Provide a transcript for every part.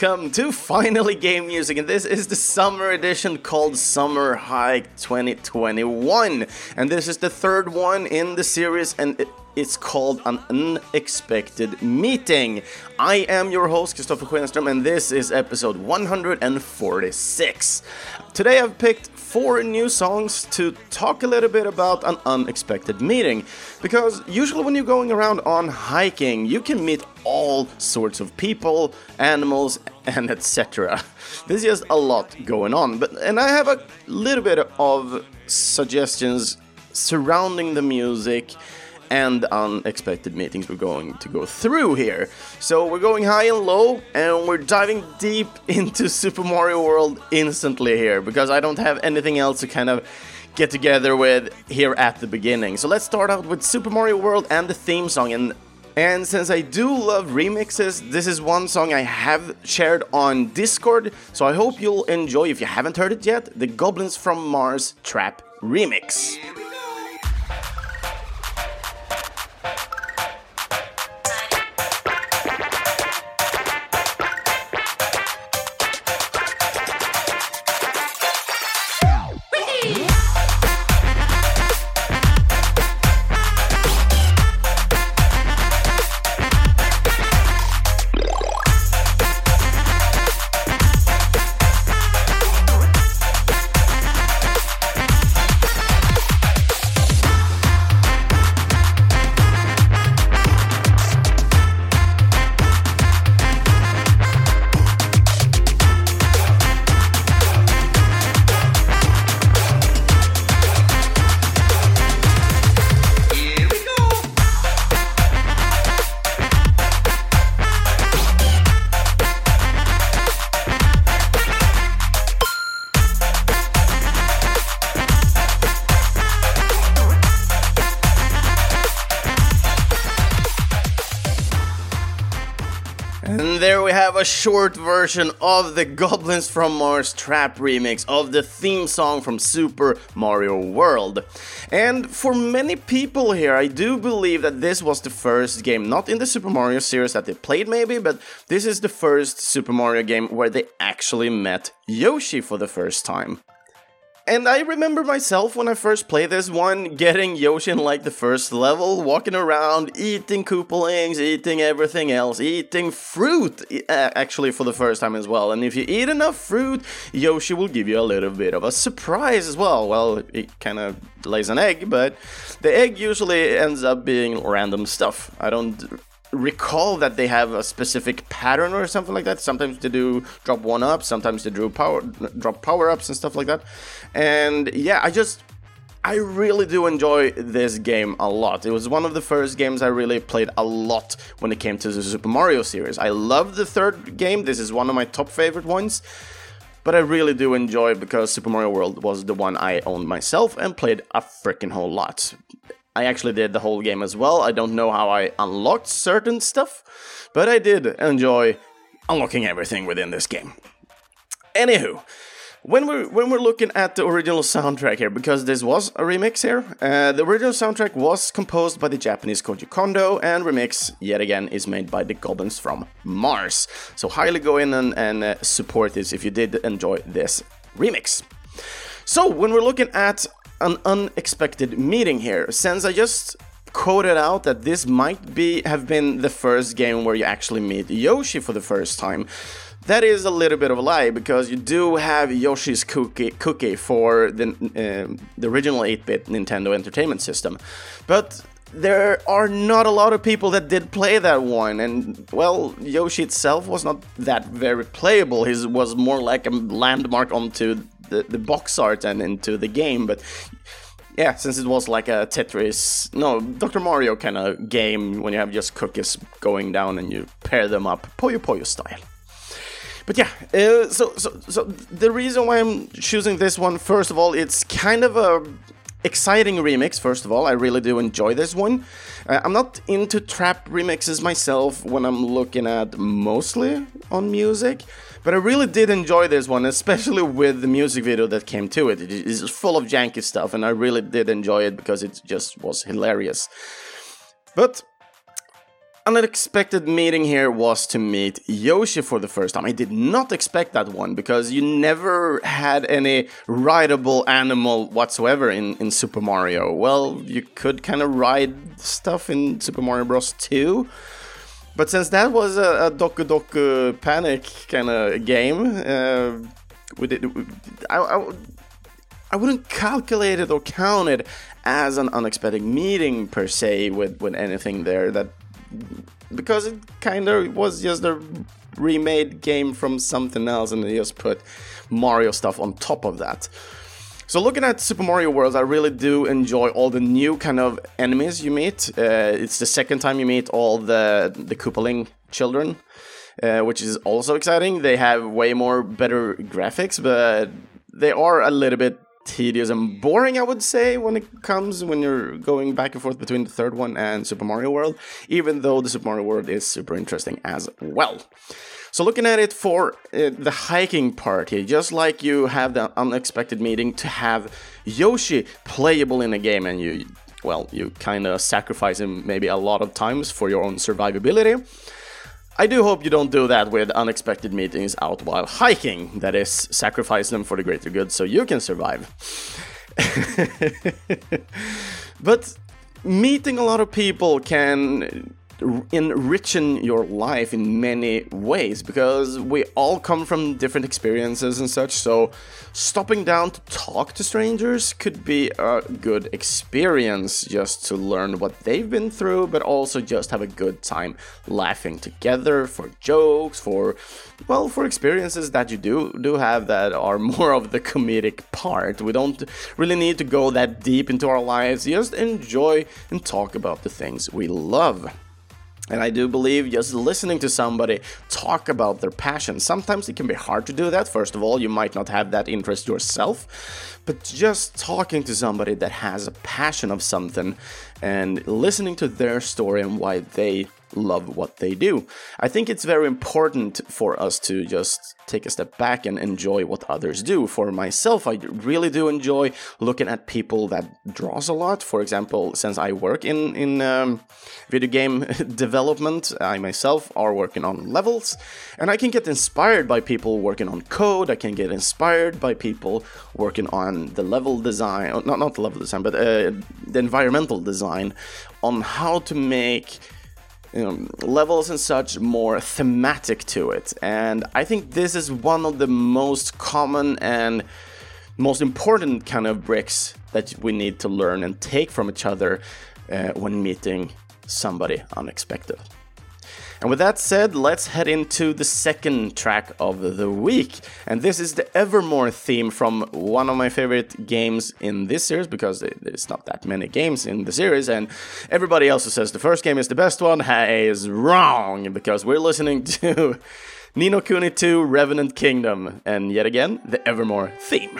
welcome to Finally Game Music, and this is the summer edition called Summer Hike 2021, and this is the third one in the series, and it's called An Unexpected Meeting. I am your host, Kristoffer Schenström, and this is episode 146. Today I've picked 4 new songs to talk a little bit about an unexpected meeting, because usually when you're going around on hiking, you can meet all sorts of people, animals, and etc. There's just a lot going on, and I have a little bit of suggestions surrounding the music and unexpected meetings we're going to go through here. So we're going high and low, and we're diving deep into Super Mario World instantly here, because I don't have anything else to kind of get together with here at the beginning. So let's start out with Super Mario World and the theme song. And since I do love remixes, this is one song I have shared on Discord, so I hope you'll enjoy, if you haven't heard it yet, the Goblins from Mars Trap Remix. There we have a short version of the Goblins from Mars Trap remix of the theme song from Super Mario World. And for many people here, I do believe that this was the first game, not in the Super Mario series that they played maybe, but this is the first Super Mario game where they actually met Yoshi for the first time. And I remember myself when I first played this one, getting Yoshi in like the first level, walking around, eating Koopalings, eating everything else, eating fruit actually for the first time as well. And if you eat enough fruit, Yoshi will give you a little bit of a surprise as well. Well, it kind of lays an egg, but the egg usually ends up being random stuff. I don't recall that they have a specific pattern or something like that. Sometimes they do drop 1-up, sometimes they drop power-ups and stuff like that. And yeah, I really do enjoy this game a lot. It was one of the first games I really played a lot when it came to the Super Mario series. I love the third game. This is one of my top favorite ones. But I really do enjoy it because Super Mario World was the one I owned myself and played a freaking whole lot. I actually did the whole game as well. I don't know how I unlocked certain stuff, but I did enjoy unlocking everything within this game. Anywho, when we're looking at the original soundtrack here, because this was a remix here, the original soundtrack was composed by the Japanese Koji Kondo, and remix, yet again, is made by the Goblins from Mars. So highly go in and support this if you did enjoy this remix. So when we're looking at an unexpected meeting here, since I just quoted out that this might have been the first game where you actually meet Yoshi for the first time, that is a little bit of a lie, because you do have Yoshi's Cookie for the original 8-bit Nintendo Entertainment System, but there are not a lot of people that did play that one, and well, Yoshi itself was not that very playable. He was more like a landmark onto the box art and into the game, but yeah, since it was like a Dr. Mario kind of game, when you have just cookies going down and you pair them up, Puyo Puyo style. But yeah, so the reason why I'm choosing this one, first of all, it's kind of a exciting remix. First of all, I really do enjoy this one. I'm not into trap remixes myself when I'm looking at mostly on music, but I really did enjoy this one, especially with the music video that came to it. It is full of janky stuff, and I really did enjoy it because it just was hilarious. But unexpected meeting here was to meet Yoshi for the first time. I did not expect that one, because you never had any rideable animal whatsoever in Super Mario. Well, you could kind of ride stuff in Super Mario Bros. 2, but since that was a Doku Doku Panic kind of game, I wouldn't calculate it or count it as an unexpected meeting per se with anything there, because it kind of was just a remade game from something else, and they just put Mario stuff on top of that. So looking at Super Mario World, I really do enjoy all the new kind of enemies you meet. It's the second time you meet all the Koopaling children, which is also exciting. They have way more better graphics, but they are a little bit tedious and boring, I would say, when you're going back and forth between the third one and Super Mario World, even though the Super Mario World is super interesting as well. So looking at it for the hiking part here, just like you have the unexpected meeting to have Yoshi playable in a game, and you kind of sacrifice him maybe a lot of times for your own survivability. I do hope you don't do that with unexpected meetings out while hiking. That is, sacrifice them for the greater good so you can survive. But meeting a lot of people can enrichen your life in many ways, because we all come from different experiences and such, so stopping down to talk to strangers could be a good experience, just to learn what they've been through, but also just have a good time laughing together, for jokes, for experiences that you do have that are more of the comedic part. We don't really need to go that deep into our lives, just enjoy and talk about the things we love. And I do believe just listening to somebody talk about their passion, sometimes it can be hard to do that. First of all, you might not have that interest yourself, but just talking to somebody that has a passion of something and listening to their story and why they love what they do. I think it's very important for us to just take a step back and enjoy what others do. For myself, I really do enjoy looking at people that draws a lot. For example, since I work in video game development, I myself are working on levels, and I can get inspired by people working on code. I can get inspired by people working on the level design, not the level design, but the environmental design, on how to make levels and such more thematic to it. And I think this is one of the most common and most important kind of bricks that we need to learn and take from each other when meeting somebody unexpected. And with that said, let's head into the second track of the week. And this is the Evermore theme from one of my favorite games in this series, because there's not that many games in the series, and everybody else who says the first game is the best one is wrong, because we're listening to Ni no Kuni 2 Revenant Kingdom, and yet again, the Evermore theme.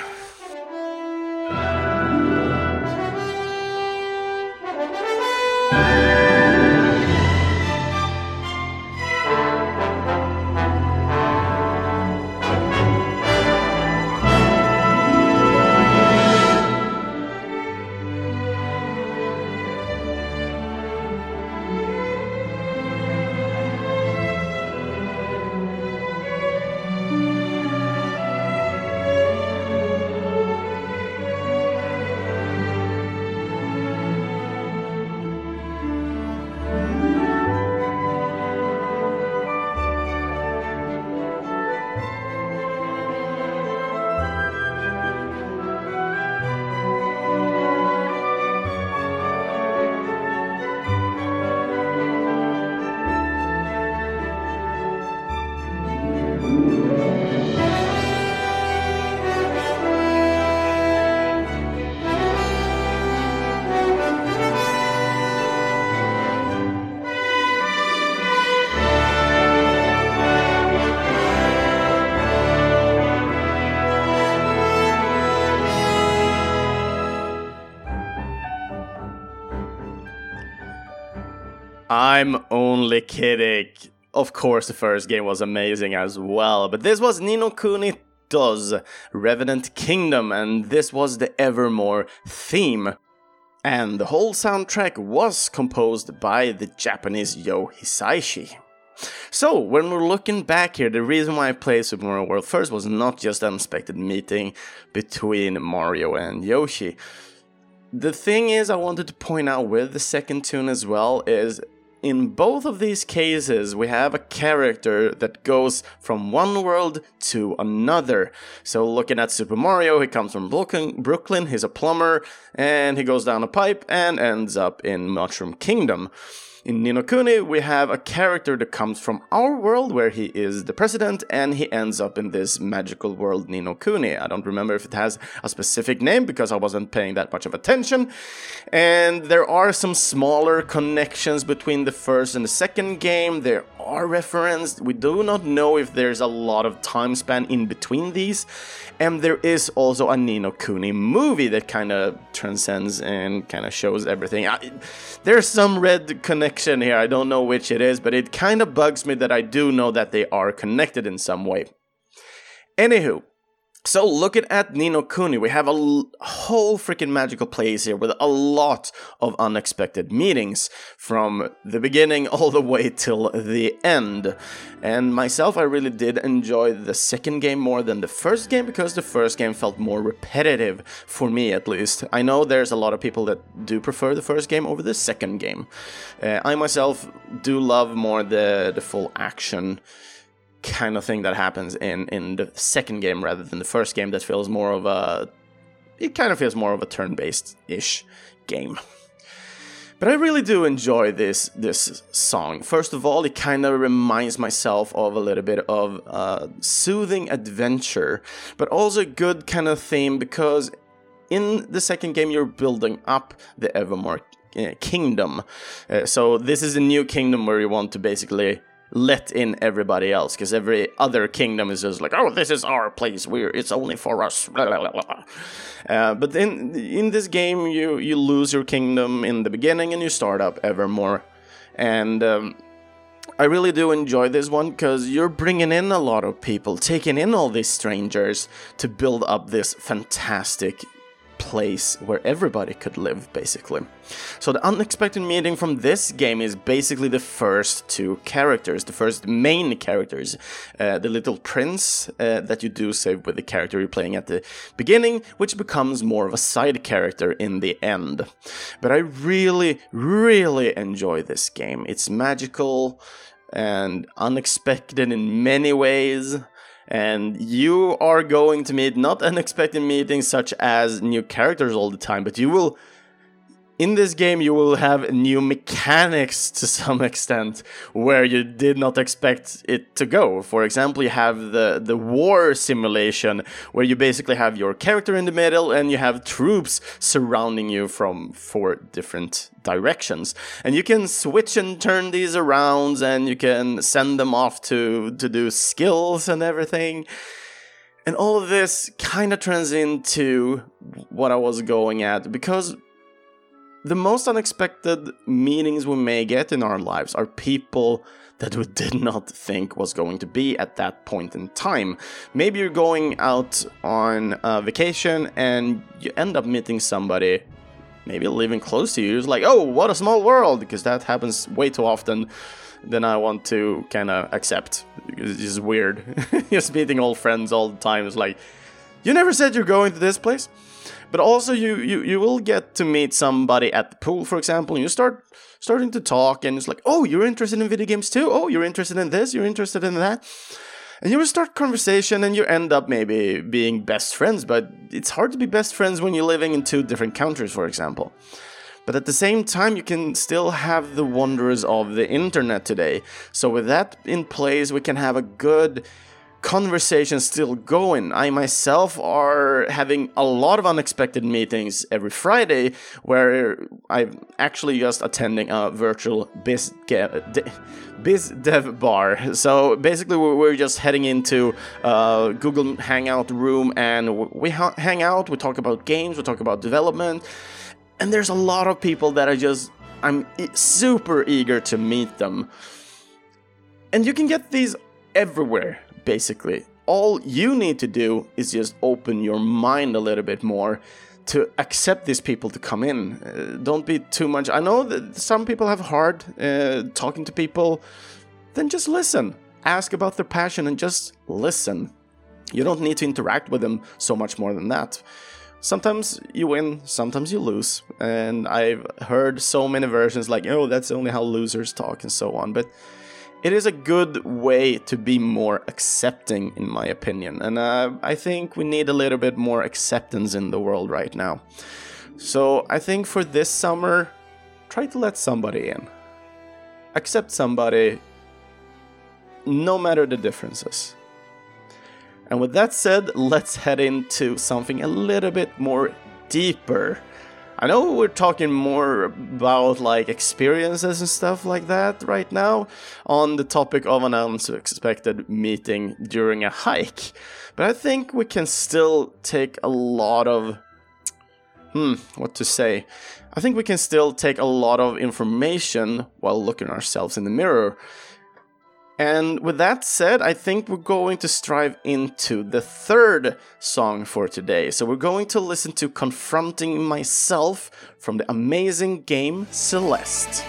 I'm only kidding. Of course, the first game was amazing as well, but this was Ni no Kuni 2 Revenant Kingdom, and this was the Evermore theme. And the whole soundtrack was composed by the Japanese Yo Hisaishi. So, when we're looking back here, the reason why I played Super Mario World first was not just an unexpected meeting between Mario and Yoshi. The thing is, I wanted to point out with the second tune as well, is in both of these cases, we have a character that goes from one world to another. So looking at Super Mario, he comes from Brooklyn, he's a plumber, and he goes down a pipe and ends up in Mushroom Kingdom. In Ni no Kuni, we have a character that comes from our world where he is the president and he ends up in this magical world Ni no Kuni. I don't remember if it has a specific name because I wasn't paying that much of attention. And there are some smaller connections between the first and the second game. There are referenced. We do not know if there's a lot of time span in between these. And there is also a Ni no Kuni movie that kind of transcends and kind of shows everything. There's some red connection here, I don't know which it is, but it kind of bugs me that I do know that they are connected in some way. Anywho, so looking at Ni no Kuni, we have a whole freaking magical place here with a lot of unexpected meetings from the beginning all the way till the end. And myself, I really did enjoy the second game more than the first game because the first game felt more repetitive, for me at least. I know there's a lot of people that do prefer the first game over the second game. I myself do love more the full action kind of thing that happens in the second game rather than the first game that feels more of a... It kind of feels more of a turn-based-ish game. But I really do enjoy this song. First of all, it kind of reminds myself of a little bit of soothing adventure, but also a good kind of theme because in the second game you're building up the Evermore Kingdom. So this is a new kingdom where you want to basically let in everybody else, because every other kingdom is just like, oh, this is our place, it's only for us, blah, blah, blah, blah. But in this game, you lose your kingdom in the beginning and you start up Evermore. And I really do enjoy this one, because you're bringing in a lot of people, taking in all these strangers to build up this fantastic place where everybody could live, basically. So the unexpected meeting from this game is basically the first two characters, the first main characters, the little prince that you do save with the character you're playing at the beginning, which becomes more of a side character in the end. But I really, really enjoy this game. It's magical and unexpected in many ways. And you are going to meet not unexpected meetings such as new characters all the time, but you will, in this game, you will have new mechanics to some extent where you did not expect it to go. For example, you have the war simulation where you basically have your character in the middle and you have troops surrounding you from 4 different directions. And you can switch and turn these around and you can send them off to do skills and everything. And all of this kind of turns into what I was going at, because the most unexpected meetings we may get in our lives are people that we did not think was going to be at that point in time. Maybe you're going out on a vacation and you end up meeting somebody, maybe living close to you. It's like, oh, what a small world, because that happens way too often than I want to kind of accept. It's just weird. Just meeting old friends all the time. It's like, you never said you're going to this place. But also you will get to meet somebody at the pool, for example, and you starting to talk, and it's like, oh, you're interested in video games too? Oh, you're interested in this? You're interested in that? And you will start conversation, and you end up maybe being best friends, but it's hard to be best friends when you're living in 2 different countries, for example. But at the same time, you can still have the wonders of the internet today. So with that in place, we can have a good conversation still going. I myself are having a lot of unexpected meetings every Friday where I'm actually just attending a virtual biz dev bar. So basically we're just heading into Google Hangout room and we hang out, we talk about games, we talk about development, and there's a lot of people that I'm super eager to meet them. And you can get these everywhere. Basically, all you need to do is just open your mind a little bit more. to accept these people to come in. Don't be too much. I know that some people have hard talking to people. Then just listen. Ask about their passion and just listen. You don't need to interact with them so much more than that. Sometimes you win, sometimes you lose. And I've heard so many versions like, oh, that's only how losers talk and so on. But it is a good way to be more accepting, in my opinion. And I think we need a little bit more acceptance in the world right now. So I think for this summer, try to let somebody in. Accept somebody, no matter the differences. And with that said, let's head into something a little bit more deeper. I know we're talking more about like experiences and stuff like that right now on the topic of an unexpected meeting during a hike. But I think we can still take a lot of... what to say? I think we can still take a lot of information while looking at ourselves in the mirror. And with that said, I think we're going to strive into the third song for today. So we're going to listen to Confronting Myself from the amazing game Celeste.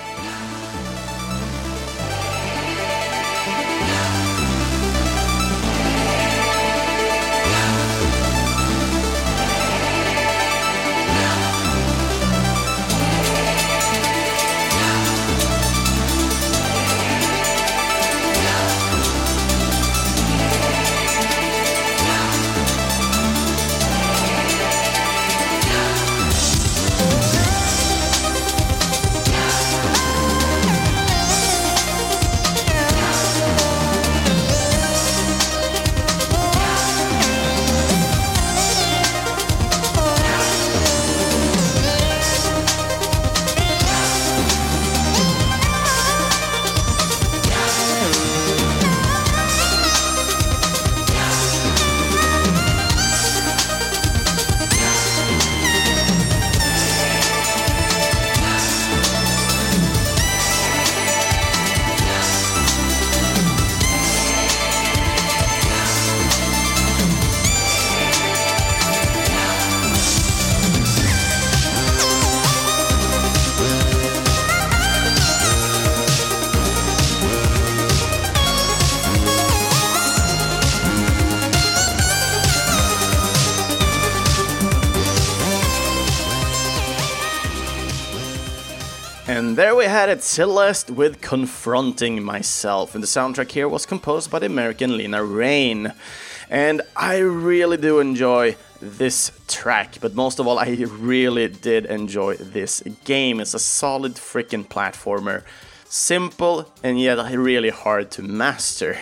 And there we had it, Celeste with Confronting Myself. And the soundtrack here was composed by the American Lena Raine. And I really do enjoy this track, but most of all, I really did enjoy this game. It's a solid freaking platformer. Simple and yet really hard to master.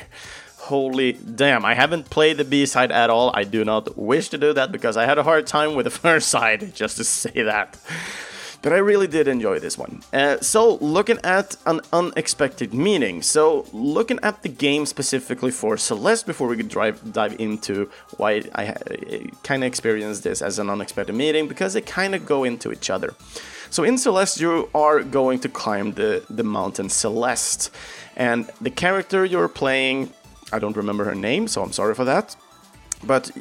Holy damn, I haven't played the B-side at all. I do not wish to do that because I had a hard time with the first side, just to say that. But I really did enjoy this one. So, looking at an unexpected meeting. So, looking at the game specifically for Celeste before we could dive into why I kind of experienced this as an unexpected meeting, because they kind of go into each other. So, in Celeste, you are going to climb the mountain Celeste. And the character you're playing, I don't remember her name, so I'm sorry for that. But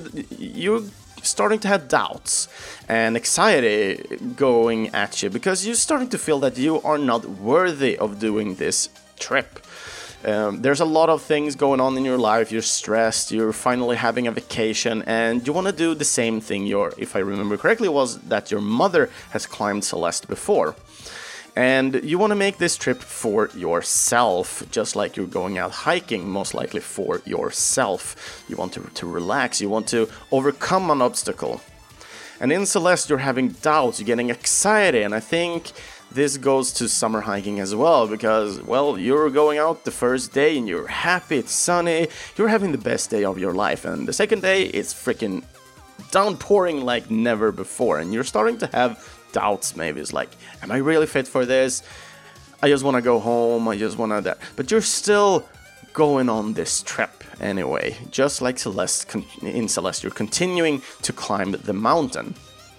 you're starting to have doubts and anxiety going at you because you're starting to feel that you are not worthy of doing this trip. There's a lot of things going on in your life. You're stressed, you're finally having a vacation, and you want to do the same thing if I remember correctly, was that your mother has climbed Celeste before. And you want to make this trip for yourself, just like you're going out hiking, most likely for yourself. You want to relax, you want to overcome an obstacle. And in Celeste, you're having doubts, you're getting excited, and I think this goes to summer hiking as well, because, well, you're going out the first day and you're happy, it's sunny, you're having the best day of your life, and the second day, it's freaking downpouring like never before, and you're starting to have doubts. Maybe it's like, am I really fit for this? I just want to go home, I just want to that. But you're still going on this trip anyway, just like Celeste. In Celeste, you're continuing to climb the mountain.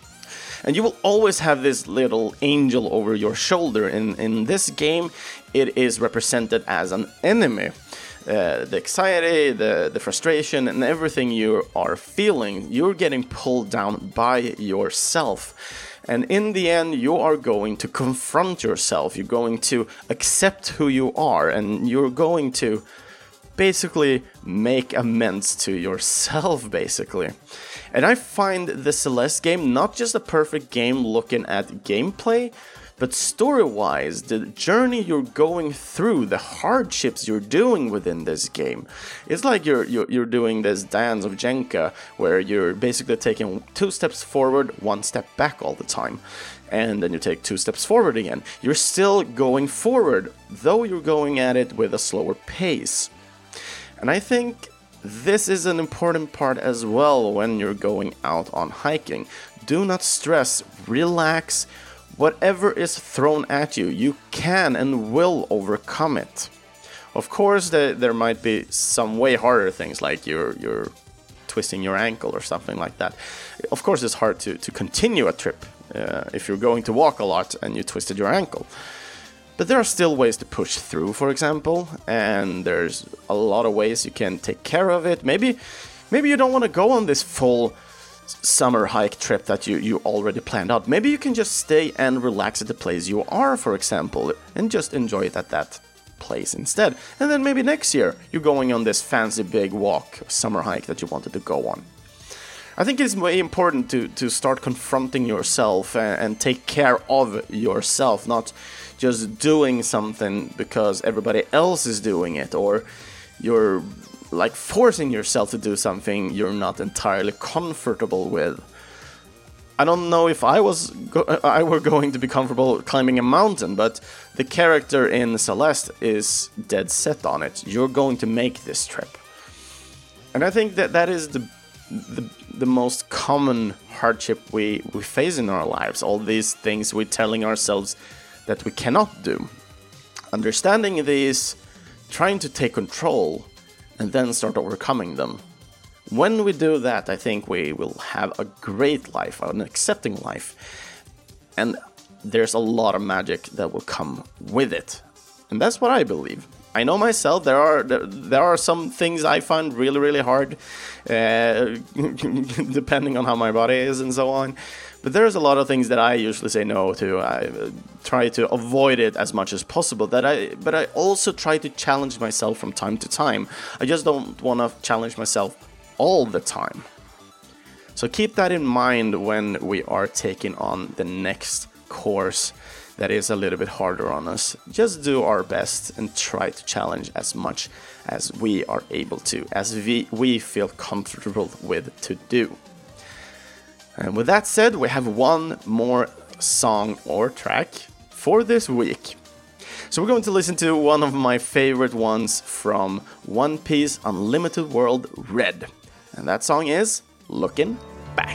And you will always have this little angel over your shoulder. In this game, it is represented as an enemy. the anxiety, the frustration, and everything you are feeling, you're getting pulled down by yourself. And in the end, you are going to confront yourself. You're going to accept who you are, and you're going to basically make amends to yourself, basically. And I find the Celeste game not just a perfect game looking at gameplay, but story-wise, the journey you're going through, the hardships you're doing within this game. It's like you're doing this dance of Jenga, where you're basically taking 2 steps forward, 1 step back all the time. And then you take 2 steps forward again. You're still going forward, though you're going at it with a slower pace. And I think this is an important part as well when you're going out on hiking. Do not stress, relax. Whatever is thrown at you, you can and will overcome it. Of course, there might be some way harder things, like you're twisting your ankle or something like that. Of course, it's hard to continue a trip if you're going to walk a lot and you twisted your ankle. But there are still ways to push through, for example, and there's a lot of ways you can take care of it. Maybe you don't want to go on this full summer hike trip that you already planned out. Maybe you can just stay and relax at the place you are, for example, and just enjoy it at that place instead. And then maybe next year you're going on this fancy big walk, summer hike that you wanted to go on. I think it's very important to start confronting yourself and take care of yourself, not just doing something because everybody else is doing it, or you're like forcing yourself to do something you're not entirely comfortable with. I don't know if I were going to be comfortable climbing a mountain, but the character in Celeste is dead set on it. You're going to make this trip. And I think that is the most common hardship we face in our lives. All these things we're telling ourselves that we cannot do. Understanding these, trying to take control, and then start overcoming them. When we do that, I think we will have a great life, an accepting life. And there's a lot of magic that will come with it. And that's what I believe. I know myself, there are some things I find really, really hard, depending on how my body is and so on. But there's a lot of things that I usually say no to. I try to avoid it as much as possible. But I also try to challenge myself from time to time. I just don't want to challenge myself all the time. So keep that in mind when we are taking on the next course that is a little bit harder on us. Just do our best and try to challenge as much as we are able to, as we feel comfortable with to do. And with that said, we have one more song or track for this week. So we're going to listen to one of my favorite ones from One Piece Unlimited World Red. And that song is Looking Back.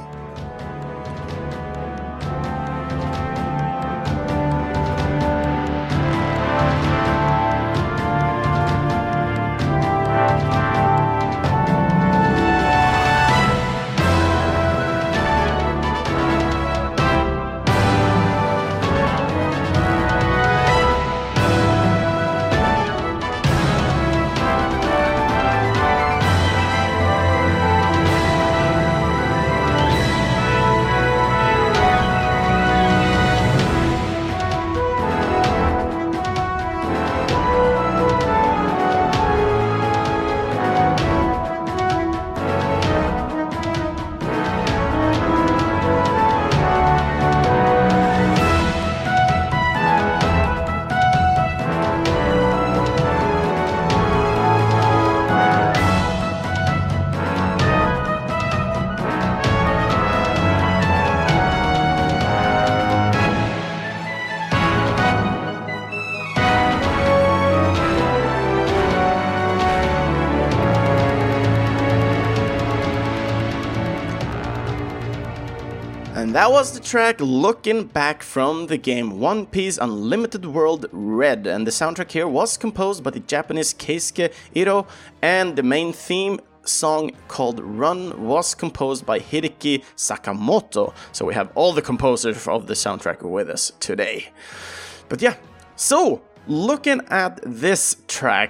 And that was the track Looking Back from the game One Piece Unlimited World Red. And the soundtrack here was composed by the Japanese Keisuke Ito, and the main theme song called Run was composed by Hideki Sakamoto. So we have all the composers of the soundtrack with us today. But yeah, so looking at this track,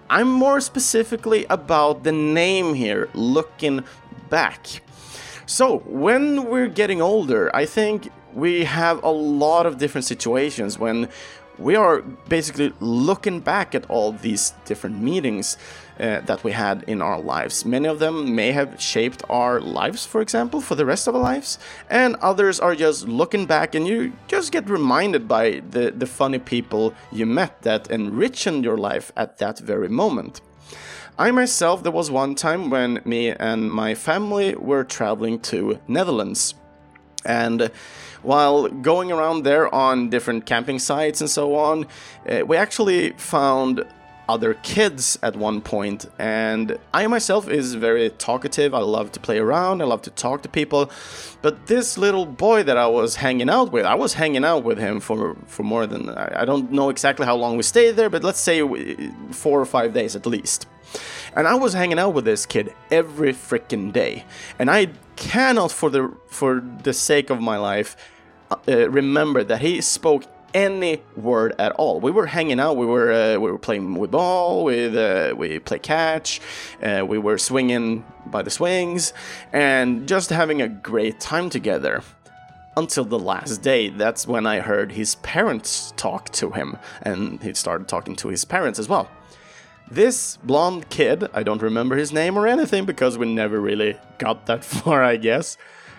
I'm more specifically about the name here, looking back. So, when we're getting older, I think we have a lot of different situations when we are basically looking back at all these different meetings that we had in our lives. Many of them may have shaped our lives, for example, for the rest of our lives, and others are just looking back and you just get reminded by the funny people you met that enriched your life at that very moment. I myself, there was one time when me and my family were traveling to Netherlands. And while going around there on different camping sites and so on, we actually found other kids at one point, and I myself is very talkative. I love to play around, I love to talk to people, but this little boy that I was hanging out with him for more than, I don't know exactly how long we stayed there, but let's say 4 or 5 days at least. And I was hanging out with this kid every freaking day, and I cannot for the sake of my life remember that he spoke any word at all. We were hanging out, we were playing with ball, we play catch, we were swinging by the swings, and just having a great time together. Until the last day, that's when I heard his parents talk to him, and he started talking to his parents as well. This blonde kid, I don't remember his name or anything because we never really got that far, I guess.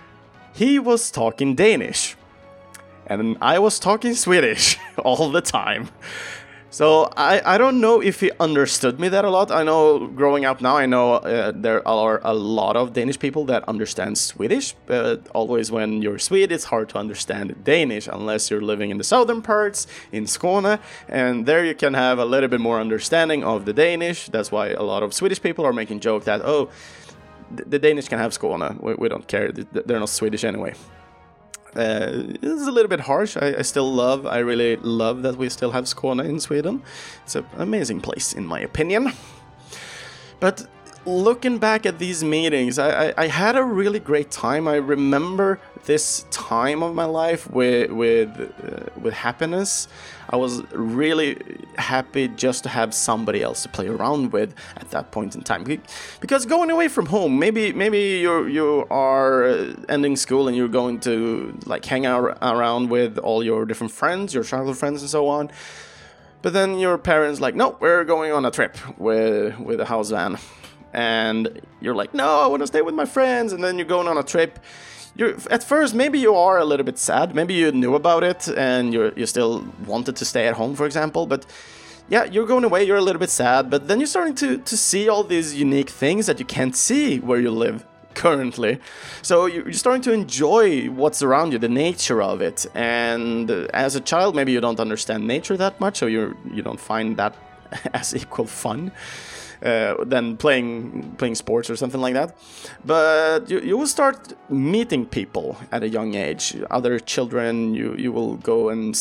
He was talking Danish. And I was talking Swedish all the time. So I don't know if he understood me that a lot. I know growing up now, I know there are a lot of Danish people that understand Swedish. But always when you're Swede, it's hard to understand Danish unless you're living in the southern parts, in Skåne. And there you can have a little bit more understanding of the Danish. That's why a lot of Swedish people are making joke that, oh, the Danish can have Skåne. We don't care. They're not Swedish anyway. This is a little bit harsh. I really love that we still have Skåne in Sweden. It's an amazing place, in my opinion. But looking back at these meetings, I had a really great time. I remember this time of my life with happiness. I was really happy just to have somebody else to play around with at that point in time. Because going away from home, maybe you are ending school and you're going to like hang out around with all your different friends, your childhood friends and so on. But then your parents like, no, we're going on a trip with a house van. And you're like, no, I want to stay with my friends. And then you're going on a trip. At first, maybe you are a little bit sad. Maybe you knew about it and you still wanted to stay at home, for example. But yeah, you're going away, you're a little bit sad. But then you're starting to see all these unique things that you can't see where you live currently. So you're starting to enjoy what's around you, the nature of it. And as a child, maybe you don't understand nature that much, so you don't find that as equal fun. Than playing sports or something like that. But you will start meeting people at a young age. Other children, you will go and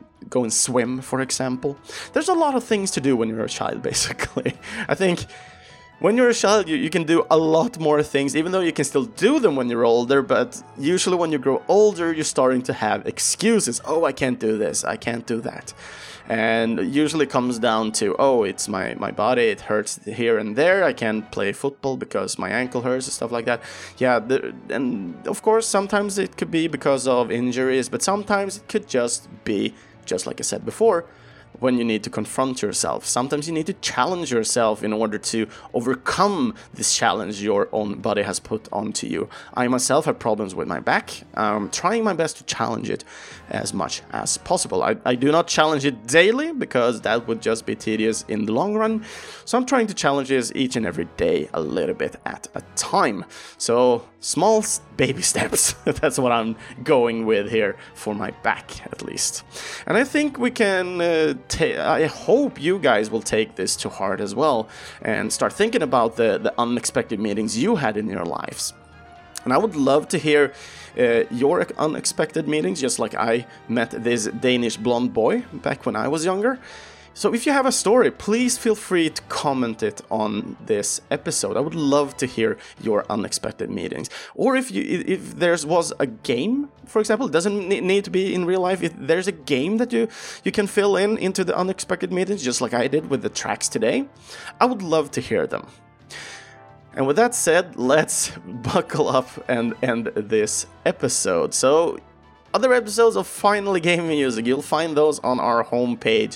swim, for example. There's a lot of things to do when you're a child, basically. I think when you're a child, you can do a lot more things, even though you can still do them when you're older, but usually when you grow older, you're starting to have excuses. Oh, I can't do this, I can't do that. And it usually comes down to, oh, it's my body, it hurts here and there, I can't play football because my ankle hurts and stuff like that. Yeah, and of course, sometimes it could be because of injuries, but sometimes it could just be, just like I said before, when you need to confront yourself. Sometimes you need to challenge yourself in order to overcome this challenge your own body has put onto you. I myself have problems with my back. I'm trying my best to challenge it as much as possible. I do not challenge it daily because that would just be tedious in the long run. So I'm trying to challenge this each and every day a little bit at a time. So small baby steps. That's what I'm going with here for my back, at least. And I think we can I hope you guys will take this to heart as well and start thinking about the unexpected meetings you had in your lives. And I would love to hear your unexpected meetings, just like I met this Danish blonde boy back when I was younger. So if you have a story, please feel free to comment it on this episode. I would love to hear your unexpected meetings. Or if there was a game, for example, it doesn't need to be in real life. If there's a game that you can fill into the unexpected meetings, just like I did with the tracks today, I would love to hear them. And with that said, let's buckle up and end this episode. So, other episodes of Finally Game Music, you'll find those on our homepage,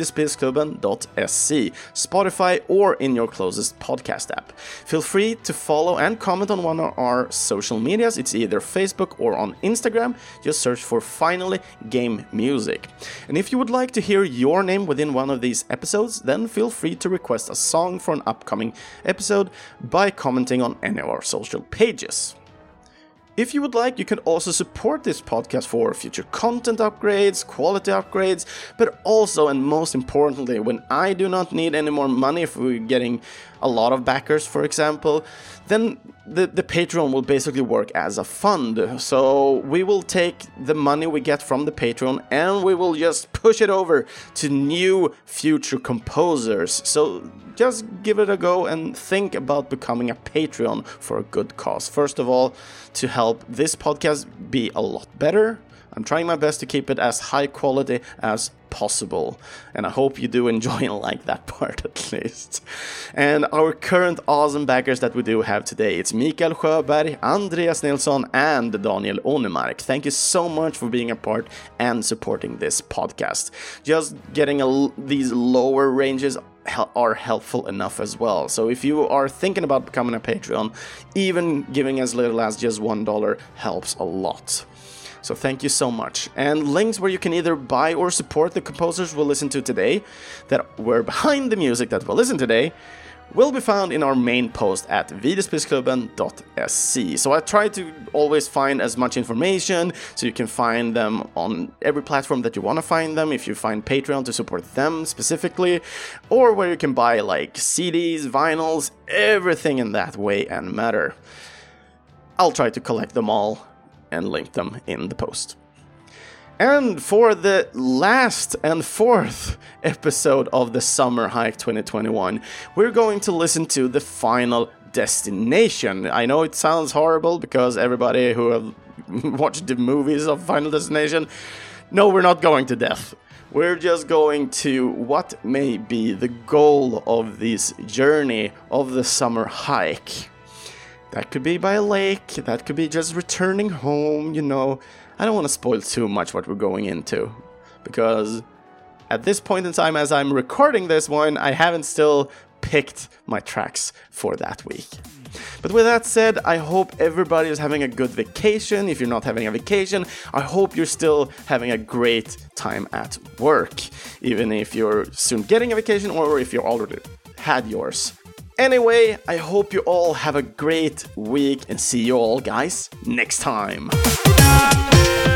videospelsklubben.se, Spotify, or in your closest podcast app. Feel free to follow and comment on one of our social medias. It's either Facebook or on Instagram. Just search for Finally Game Music. And if you would like to hear your name within one of these episodes, then feel free to request a song for an upcoming episode by commenting on any of our social pages. If you would like, you can also support this podcast for future content upgrades, quality upgrades, but also, and most importantly, when I do not need any more money, if we're getting a lot of backers, for example, then the Patreon will basically work as a fund. So we will take the money we get from the Patreon and we will just push it over to new future composers. So just give it a go and think about becoming a Patreon for a good cause. First of all, to help this podcast be a lot better. I'm trying my best to keep it as high quality as possible, and I hope you do enjoy and like that part at least. And our current awesome backers that we do have today, it's Mikael Sjöberg, Andreas Nilsson, and Daniel Onemark. Thank you so much for being a part and supporting this podcast. Just getting these lower ranges are helpful enough as well. So if you are thinking about becoming a Patreon, even giving as little as just $1 helps a lot. So thank you so much. And links where you can either buy or support the composers we'll listen to today, that were behind the music that we'll listen today, will be found in our main post at videospelsklubben.se. So I try to always find as much information, so you can find them on every platform that you want to find them, if you find Patreon to support them specifically, or where you can buy like CDs, vinyls, everything in that way and matter. I'll try to collect them all and link them in the post. And for the last and fourth episode of the Summer Hike 2021, we're going to listen to the Final Destination. I know it sounds horrible because everybody who have watched the movies of Final Destination, no, we're not going to death. We're just going to what may be the goal of this journey of the summer hike. That could be by a lake, that could be just returning home, you know. I don't want to spoil too much what we're going into, because at this point in time, as I'm recording this one, I haven't still picked my tracks for that week. But with that said, I hope everybody is having a good vacation. If you're not having a vacation, I hope you're still having a great time at work, even if you're soon getting a vacation or if you already had yours. Anyway, I hope you all have a great week and see you all guys next time.